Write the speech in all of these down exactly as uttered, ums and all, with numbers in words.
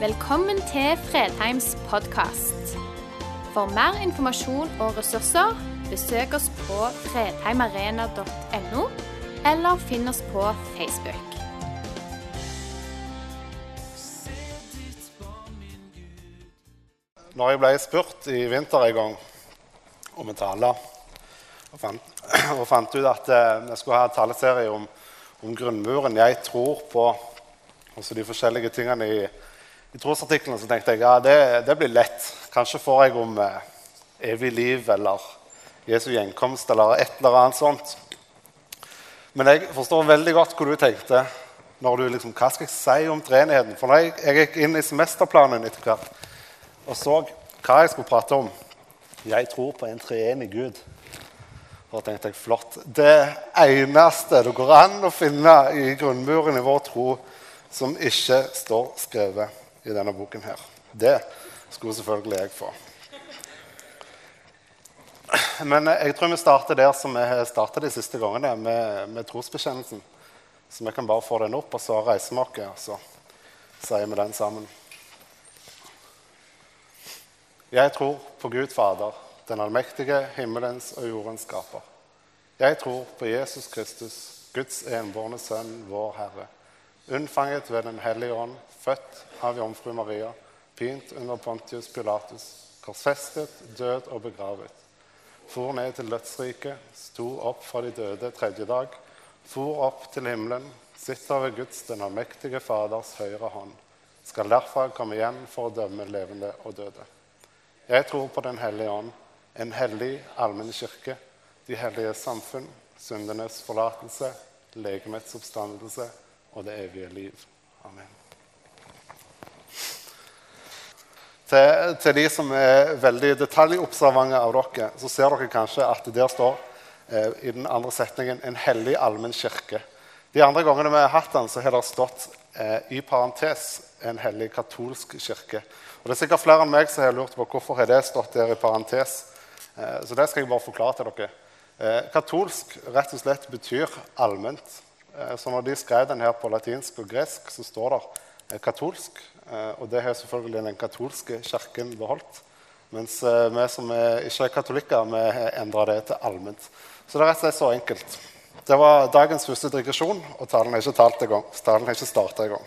Velkommen til Fredheims podcast. For mer informasjon og ressurser, besøk oss på fredheimarena punktum no, eller finn oss på Facebook. Når jeg ble spurt i vinter en gang om en tale, og fant, og fant ut at jeg skulle ha en taleserie om, om grunnmuren jeg tror på, og så de forskjellige tingene i I trosartiklene, så tenkte jeg, ja, det, det blir lett. Kanskje får jeg om eh, evig liv, eller Jesu gjenkomst, eller et eller annet sånt. Men jeg forstår veldig godt hva du tenkte, når du liksom, hva skal jeg si om treenigheten? For når jeg, jeg gikk inn i semesterplanen etter hvert, og så hva jeg skulle prate om. Jeg tror på en treenig Gud. Og da tenkte jeg, flott. Det eneste det går an å finne i grunnmuren i vår tro, som ikke står skrevet i denne boken her. Det skulle selvfølgelig jeg få. Men jeg tror vi starter der som vi startet de siste gangene, med, med trosbekjennelsen. Så vi kan bare få den opp, og så reiser vi oss, og så sier vi den sammen. Jeg tror på Gud Fader, den allmektige himmelens og jordens skaper. Jeg tror på Jesus Kristus, Guds enbårne sønn, vår Herre, unnfanget ved den hellige ånd, født av Jomfru Maria, pint under Pontius Pilatus, korsfestet, død og begravet. For ned til dødsriket, sto opp fra de døde tredje dag, for opp til himmelen, sitter ved Guds den allmektige Faders høyre hånd, skal derfra komme igjen for å dømme levende og døde. Jeg tror på den hellige ånd, en hellig allmenn kirke, de hellige samfunn, syndenes forlatelse, legemets oppstandelse og det evige liv. Amen. Til, til de som er veldig detaljobservante av dere, så ser dere kanskje at der står eh, i den andre setningen en hellig allmenn kirke. De andre gangene vi har hatt den, så har det stått eh, i parentes en hellig katolsk kirke. Og det er sikkert flere enn meg som har lurt på hvorfor har det stått der i parentes. Eh, så det skal jeg bare forklare til dere. Eh, katolsk rett og slett betyr allment. Eh, så når de skrev den her på latinsk og gresk, så står det eh, katolsk. Og det har selvfølgelig den katolske kirken beholdt. Mens vi som er ikke er katolikker, vi har endret det til allment. Så det er rett og slett så enkelt. Det var dagens første digresjon, og talen er ikke talt i gang. Talen er ikke startet i gang.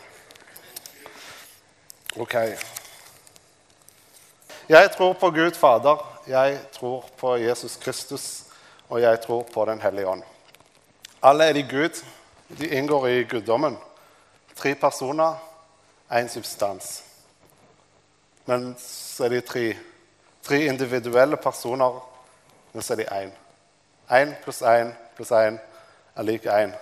Ok. Jeg tror på Gud Fader, jeg tror på Jesus Kristus, og jeg tror på den hellige ånd. Alle er de Gud. De inngår i guddommen. Tre personer, en substans. Men så er de tre, tre individuelle personer, men så er de en. En pluss en pluss en er like en.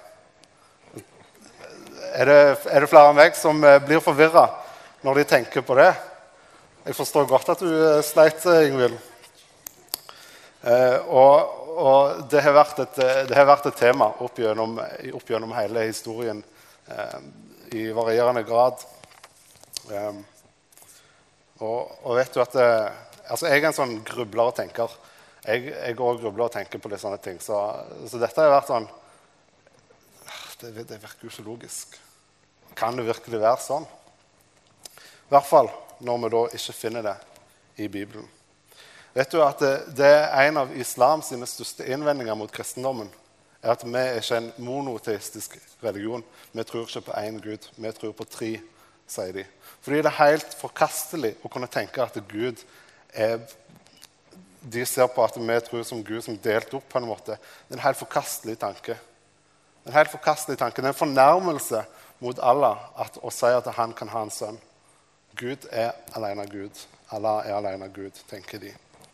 Er det, er det flere av meg som blir forvirret når de tenker på det? Jeg forstår godt at du sleit, Ingvild. Eh, og, og det har vært et, det har vært et tema opp gjennom, opp gjennom hele historien eh, i varierende grad. Um, og, og vet du at det, altså jeg er en sånn grubler og tenker jeg, jeg går og grubler og tenker på litt sånne ting så, så dette har vært sånn det, det virker jo så logisk. Kan det virkelig være sånn? I hvert fall når vi da ikke finner det i Bibelen. Vet du at det, det er en av islams sine største innvendinger mot kristendommen er at vi er ikke en monoteistisk religion. Vi tror ikke på en Gud, vi tror på tre, sier de. Fordi det er helt forkastelig å kunne tenke at Gud er... De ser på at vi tror som Gud som delt opp på en måte. Det er en helt forkastelig tanke. Det er en helt forkastelig tanke. Det er en fornærmelse mot Allah at, å si at han kan ha en sønn. Gud er alene Gud. Allah er alene Gud, tenker de.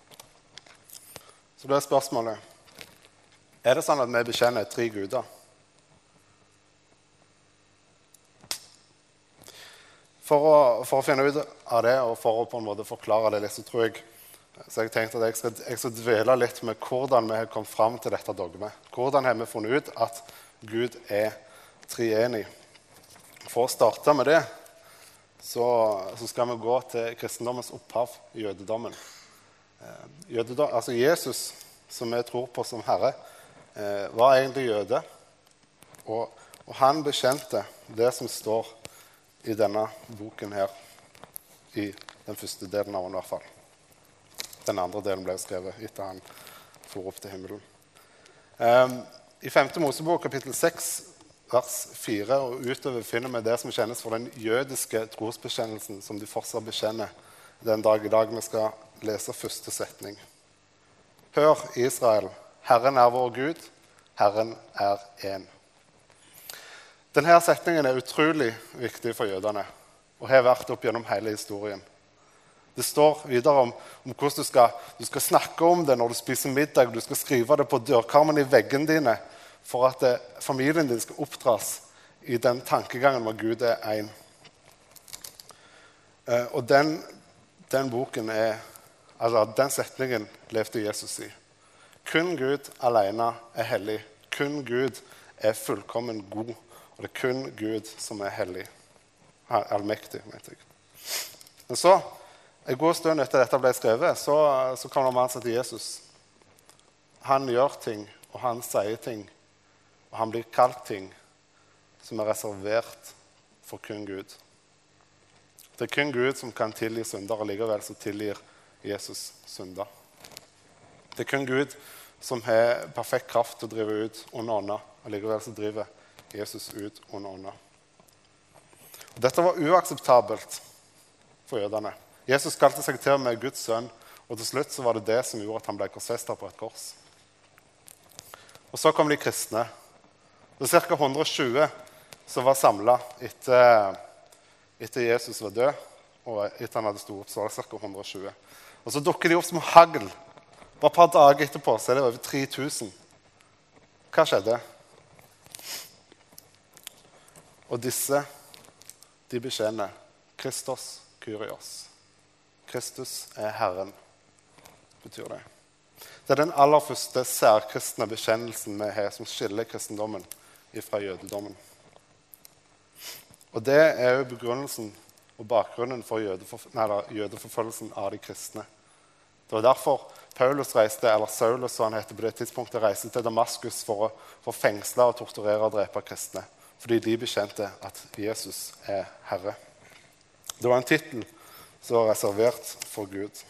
Så det er spørsmålet. Er det sånn at vi bekjenner tre guder? For å, for å finne ut av det, og for å på en måte forklare det litt, så tror jeg så jeg tenkte at jeg skal, jeg skal dvele litt med hvordan vi har kommet frem til dette dogmet. Hvordan har vi funnet ut at Gud er treenig? For å starte med det, så, så skal vi gå til kristendommens opphav i jødedommen. Jødedom, altså Jesus, som vi tror på som Herre, var egentlig jøde, og, og han bekjente det som står i denne boken her. i den første delen av den i hvert fall. Den andre delen ble skrevet etter han for opp til himmelen. Um, I femte Mosebok, kapittel seks, vers fire, og utover finner vi det som kjennes for den jødiske trosbekjennelsen, som de fortsatt bekjenner den dag i dag. Vi skal lese første setning. Hør, Israel, Herren er vår Gud, Herren er en. Denne setningen er utrolig viktig for jødene, og har vært opp gjennom hele historien. Det står videre om, om hvordan du skal, du skal snakke om det når du spiser middag, du skal skrive det på dørkarmen i veggene dine, for at det, familien din skal oppdras i den tankegangen om at Gud er en. Eh, og den, den boken er, altså den setningen levde Jesus i. Kun Gud alene er hellig. Kun Gud er fullkommen god. Og det er kun Gud som er hellig. Allmektig, mente jeg. Men så, en god stund etter dette ble skrevet, så, så kommer man seg til Jesus. Han gjør ting, og han sier ting. Og han blir kalt ting som er reservert for kun Gud. Det er kun Gud som kan tilgi synder, og likevel så tilgir Jesus synder. Det er kun Gud som har perfekt kraft til å drive ut onde ånder, og likevel så driver Jesus ut onde ånder. Og dette var uakseptabelt for jødene. Jesus kalte seg til med Guds sønn, og til slutt så var det det som gjorde at han ble korsfestet på et kors. Og så kom de kristne. Det var ca. hundre og tjue som var samlet etter, etter Jesus var død, og etter han hadde stått opp, så var det ca. hundre og tjue. Og så dukker de opp som hagl. Bare et par dager etterpå så er det over tre tusen. Hva skjedde? Og disse, de bekjenner Kristus Kyrios. Kristus er Herren, betyr det. Det er den aller første særkristne bekjennelsen vi har som skiller kristendommen fra jødedommen. Og det er jo begrunnelsen og bakgrunnen for jødeforf- nei, da, jødeforfølgelsen av de kristne. Det var derfor Paulus reiste, eller Saulus, som han heter på det tidspunktet, reiste til Damaskus for å, for å fengsle og torturere og drepe kristne. Fordi de bekjente at Jesus er Herre. Det var en titel som var reservert for Gud.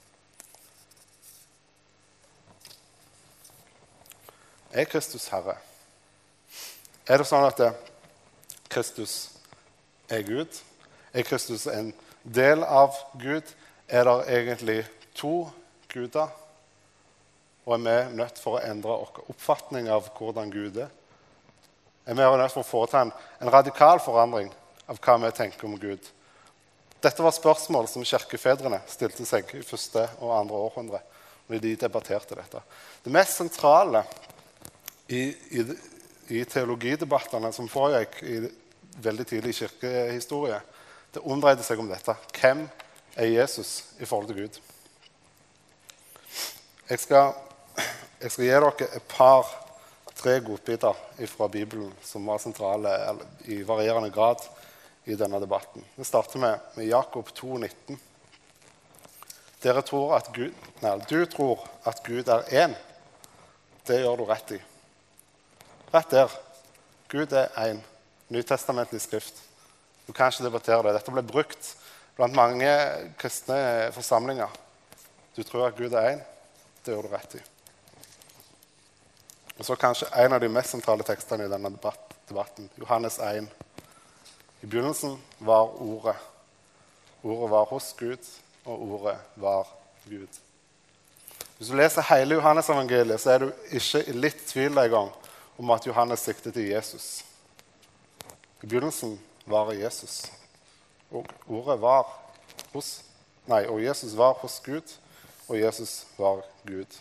Er Kristus Herre? Er det sånn at det, Kristus er Gud? Er Kristus en del av Gud? Er det egentlig to guder? Og er vi nødt for å endre vår oppfatning av hvordan Gud er? Er vi nødt for å foreta en, en radikal forandring av hva vi tenker om Gud? Dette var spørsmål som kirkefedrene stilte seg i første og andre århundre, når de debatterte dette. Det mest sentrale i, i, i teologidebattene som foregikk i veldig tidlig kirkehistorie, det omdreide seg om dette. Hvem er Jesus i forhold til Gud? Jeg skal, jeg skal gi dere et par, tre godbiter fra Bibelen som var sentrale i varierende grad i denne debatten. Vi starter med, med Jakob to nitten. Dere tror at Gud, nei, du tror at Gud er én. Det gjør du rett i. Rett der. Gud er én. Nytestamentlig skrift. Du kan ikke debattere det. Dette ble brukt blant mange kristne forsamlinger. Du tror at Gud er én. Det gjør du rett i. Og så kanskje en av de mest sentrale tekstene i denne debatten. Johannes én. I begynnelsen var ordet. Ordet var hos Gud, og ordet var Gud. Hvis du leser hele Johannes-evangeliet, så er du ikke i litt tvil en gang om at Johannes sikter til Jesus. I begynnelsen var Jesus, og ordet var hos, nei, og Jesus var hos Gud, og Jesus var Gud.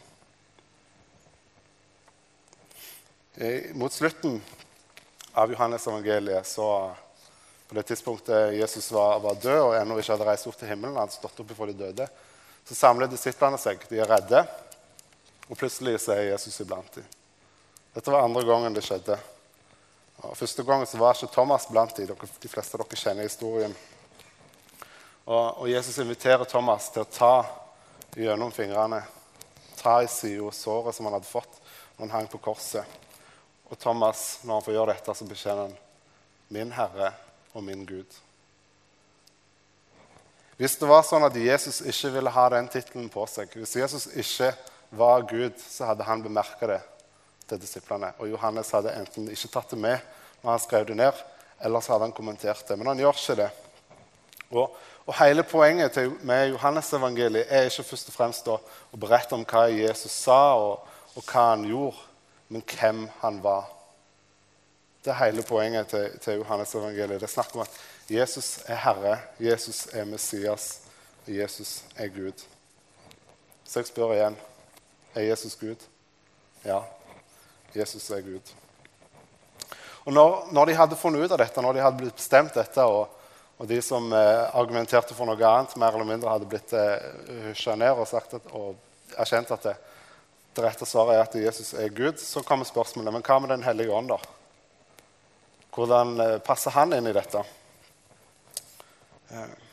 Mot slutten av Johannes-evangeliet, så på det tidspunktet Jesus var, var død og ennå ikke hadde reist opp til himmelen, han hadde stått opp for de døde, så samler disiplene seg. De er redde, og plutselig så er Jesus iblant dem. Dette var andre gangen det skjedde. Og første gangen så var ikke Thomas blant dem. De fleste av dere kjenner historien. Og, og Jesus inviterer Thomas til å ta gjennom fingrene, ta i siden og såret som han hadde fått når han hang på korset. Og Thomas, når han får gjøre dette, så bekjenner han min Herre og min Gud. Hvis det var sånn at Jesus ikke ville ha den titelen på seg, hvis Jesus ikke var Gud, så hadde han bemerket det til disiplene. Og Johannes hadde enten ikke tatt det med når han skrev det ned, eller så hadde han kommentert det. Men han gjør ikke det. Og, og hele poenget til, med Johannes evangeliet er ikke først og fremst å, å berette om hva Jesus sa og, og hva han gjorde, men hvem han var. Det er hele poenget til, til Johannes evangeliet. Det er snakk om at Jesus er Herre, Jesus er Messias, og Jesus er Gud. Så jeg spør igjen, er Jesus Gud? Ja, Jesus er Gud. Og når, når de hadde funnet ut av dette, når de hadde blitt bestemt dette, og, og de som eh, argumenterte for noe annet, mer eller mindre hadde blitt eh, hysjet ned og, sagt at, og erkjent at det, det rette svaret er at Jesus er Gud, så kommer spørsmålet, men hva med den hellige ånd da? Hvordan eh, passer han inn i dette? Eh.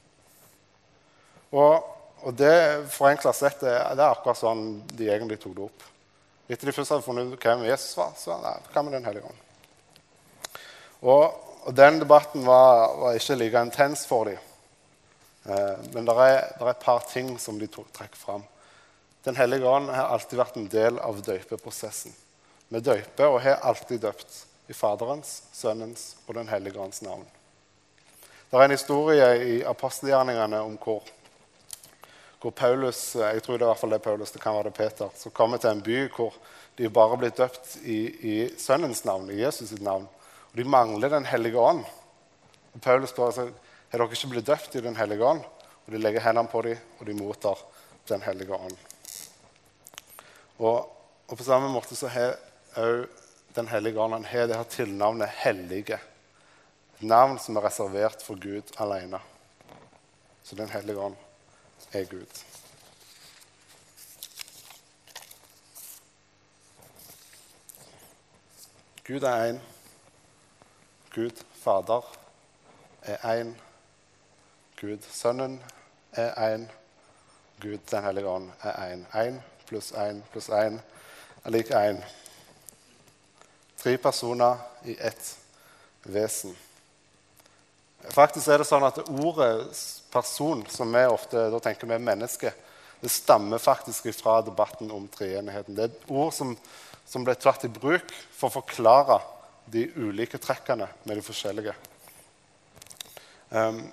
Og, og det forenklet sett, det, det er akkurat sånn de egentlig tok det opp. Etter de først hadde funnet ut hvem Jesus var, så nei, hva med den hellige ånd? Og, og den debatten var, var ikke like intens for dem. Eh, men det er, er et par ting som de tok, trekker fram. Den hellige ånd har alltid vært en del av døypeprosessen. Vi døyper og har alltid døpt i Faderens, Sønnens og den hellige ånds navn. Det er en historie i apostelgjerningene om hvor, hvor Paulus, jeg tror det er i hvert fall det Paulus, det kan være det Peter, så kommer til en by hvor de bare blir døpt i, i Sønnens navn, i Jesus sitt navn. Og de mangler den hellige ånd. Og Paulus spør seg, har dere ikke blitt døpt i den hellige ånd? Og de legger hendene på dem, og de mottar den hellige ånd. Og, og på samme måte så har også den hellige ånd, han har det her tilnavnet hellige. Et navn som er reservert for Gud alene. Så den hellige ånd er Gud. Gud er en. Gud Fader er en. Gud Sønnen er en. Gud den hellige ånd er en. En pluss en pluss en er lik en. Tre personer i ett vesen. Faktisk er det sånn at ordet person, som vi ofte da tenker vi er menneske, det stammer faktisk fra debatten om treenigheten. Det er et ord som, som ble tatt i bruk for å forklare de ulike trekkene med de forskjellige. Um,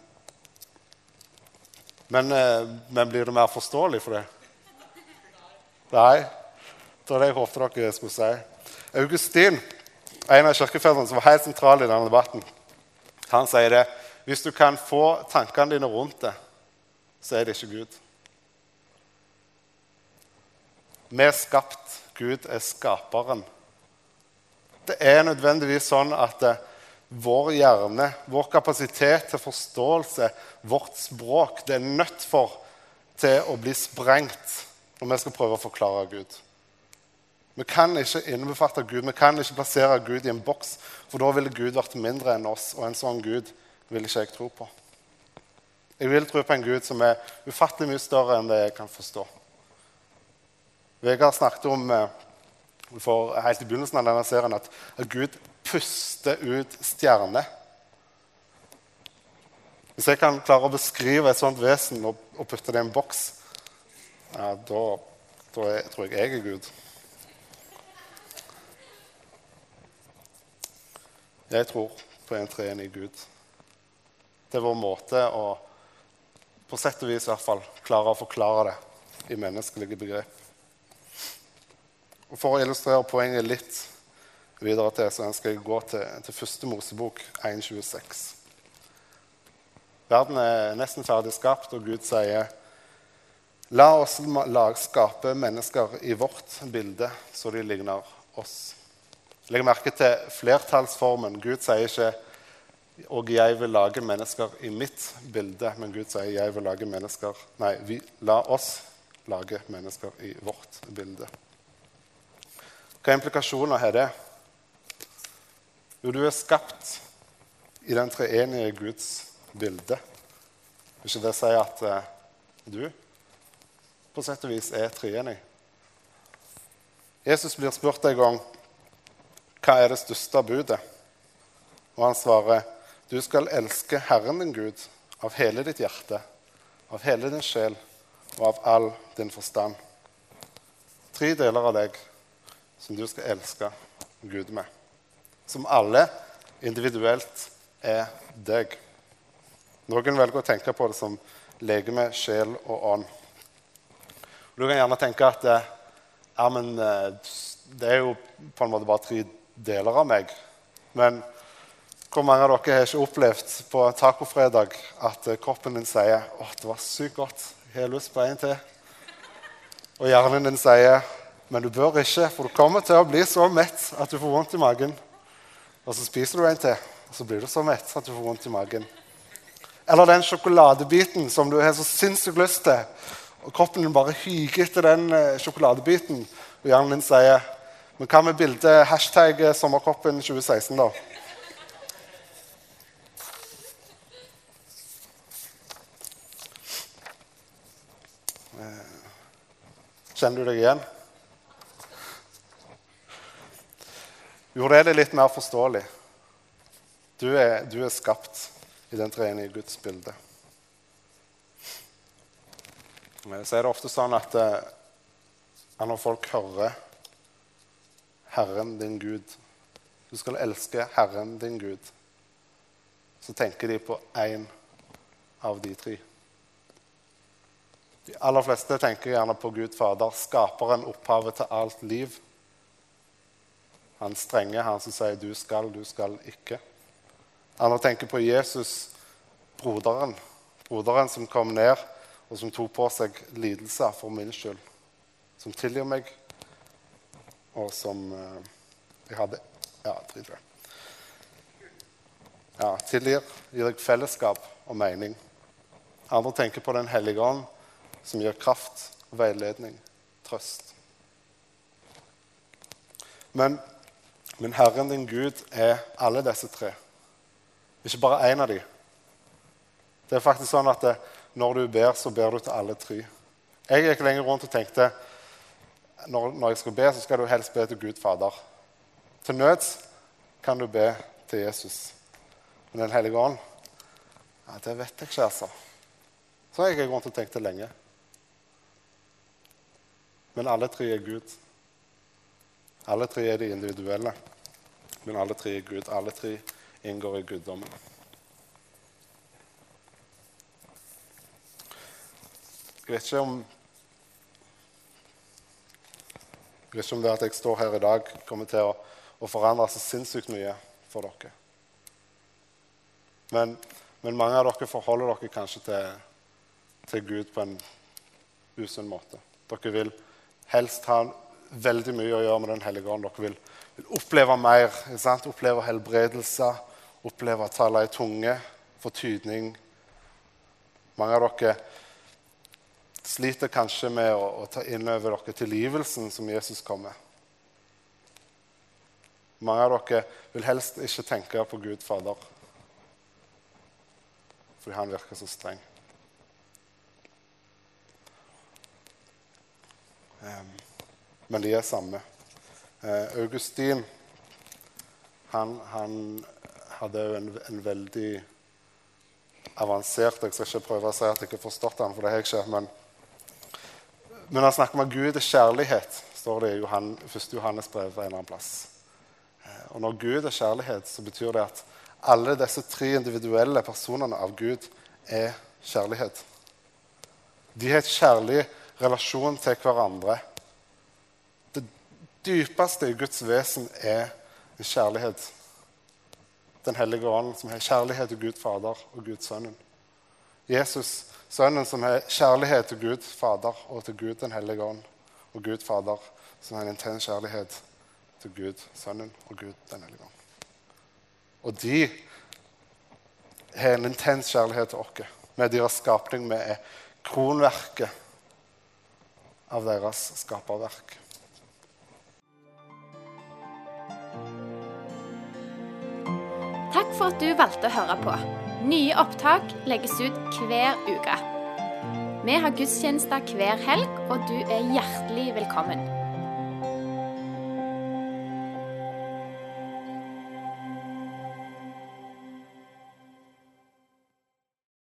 men, uh, men blir det mer forståelig for det? Nei, det var det jeg håpte dere skulle si. Augustin, en av kirkefedrene som var helt sentral i denne debatten, han sier det, hvis du kan få tankene dine rundt det, så er det ikke Gud. Vi er skapt, Gud er skaperen. Det er nødvendigvis sånn at uh, vår hjerne, vår kapasitet til forståelse, vårt språk, det er nødt for til å bli sprengt når vi skal prøve å forklare Gud. Vi kan ikke innebefatte Gud, vi kan ikke plassere Gud i en boks, for da ville Gud vært mindre enn oss, og en sånn Gud vil ikke jeg tro på. Jeg vil tro på en Gud som er ufattelig mye større enn det jeg kan forstå. Vegard snakket om for helt i begynnelsen av denne serien at, at Gud puster ut stjerner. Hvis jeg kan klare å beskrive et sånt vesen og, og putte det i en boks, ja, da, da er, tror jeg jeg er Gud. Jeg tror på en treenig Gud. Det er vår måte å, på sett og vis i hvert fall, klare å forklare det i menneskelige begrep. Og for å illustrere poenget litt videre til, så ønsker jeg å gå til, til første Mosebok en tjueseks. Verden er nesten ferdig skapt, og Gud sier, la oss lag skape mennesker i vårt bilde, så de ligner oss. Legg merke til flertallsformen. Gud sier ikke, og jeg vil lage mennesker i mitt bilde, men Gud sier, jeg vil lage mennesker, nei, vi, la oss lage mennesker i vårt bilde. Hva implikasjoner har det? Jo, du er skapt i den treenige Guds bilde. Vil ikke det si at uh, du på sett og vis er treenig? Jesus blir spurt en gang, hva er det største budet? Og han svarer, du skal elske Herren din Gud av hele ditt hjerte, av hele din sjel og av all din forstand. Tre deler av deg som du skal elske Gud med. Som alle individuelt er deg. Noen velger å tenke på det som legeme, sjel og ånd. Du kan gjerne tenke at ja, men, det er jo på en måte bare tre deler av meg. Men hvor mange av dere har ikke opplevd på tacofredag at kroppen din sier «Åh, det var sykt godt, jeg har lyst på en til». Og hjernen din sier «Men du bør ikke, for du kommer til å bli så mett at du får vondt i magen». Og så spiser du en til, og så blir du så mett at du får vondt i magen. Eller den sjokoladebiten som du har så sinnssykt lyst til, og kroppen din bare hyger etter den sjokoladebiten, og hjernen din sier «Men hva med bildet hashtag sommerkroppen tjue seksten da?» Kjenner du deg igjen? Jo, det er det litt mer forståelig. Du er, du er skapt i den treenige Guds bilde. Så er det ofte sånn at eh, når folk hører Herren din Gud, du skal elske Herren din Gud, så tenker de på en av de tre. De aller fleste tenker gjerne på Gud Fader, skaperen, opphavet til alt liv. Han strenge, han som sier du skal, du skal ikke. Andre tenker på Jesus, broderen, broderen som kom ned og som tok på seg lidelser for min skyld, som tilgir meg, og som eh, jeg hadde, ja, drit det. Ja, tilgir, gir deg fellesskap og mening. Andre tenker på den hellige ånd, som gir kraft, veiledning, trøst. Men, men Herren din Gud er alle disse tre. Ikke bare en av de. Det er faktisk sånn at det, når du ber, så ber du til alle tre. Jeg gikk lenger rundt og tenkte, når, når jeg skal be, så skal du helst be til Gud Fader. Til nøds kan du be til Jesus. Men den hellige ånd, ja, det vet jeg ikke, altså. Så jeg gikk rundt og tenkte lenge. Men alle tre er Gud. Alle tre er de individuelle. Men alle tre er Gud. Alle tre inngår i guddommen. Jeg vet ikke om jeg vet ikke om det at jeg står her i dag kommer til å, å forandre så sinnssykt mye for dere. Men, men mange av dere forholder dere kanskje til, til Gud på en usunn måte. Dere vil helst ha veldig mye å gjøre med den hellige ånd. Dere vil, vil oppleve mer, ikke sant? Oppleve helbredelse, oppleve å tale i tunge, få tydning. Mange av dere sliter kanskje med å, å ta inn over dere tilgivelsen som Jesus kom med. Mange av dere vil helst ikke tenke på Gud Fader, fordi han virker så streng. Um, men de er samme. Uh, Augustin, han, han hadde jo en, en veldig avansert, jeg skal ikke prøve å si at jeg ikke har forstått han, for det har jeg ikke, men Men han snakker om at Gud er kjærlighet, står det i Johan, første Johannes brev en eller annen plass. Og når Gud er kjærlighet, så betyr det at alle disse tre individuelle personene av Gud er kjærlighet. De har et kjærlig relasjon til hverandre. Det dypeste i Guds vesen er en kjærlighet. Den hellige ånd som har kjærlighet til Gud Fader og Gud Sønnen. Jesus, Sønnen som har kjærlighet til Gud Fader og til Gud den hellige ånd, og Gud Fader som har en intens kjærlighet til Gud Sønnen og Gud den hellige ånd. Og de har en intens kjærlighet til oss, med deres skapning, med kronverket av deres skaperverk. Takk for at du valgte å høre på. Nye opptak legges ut hver uke. Vi har gudstjenester hver helg, og du er hjertelig velkommen.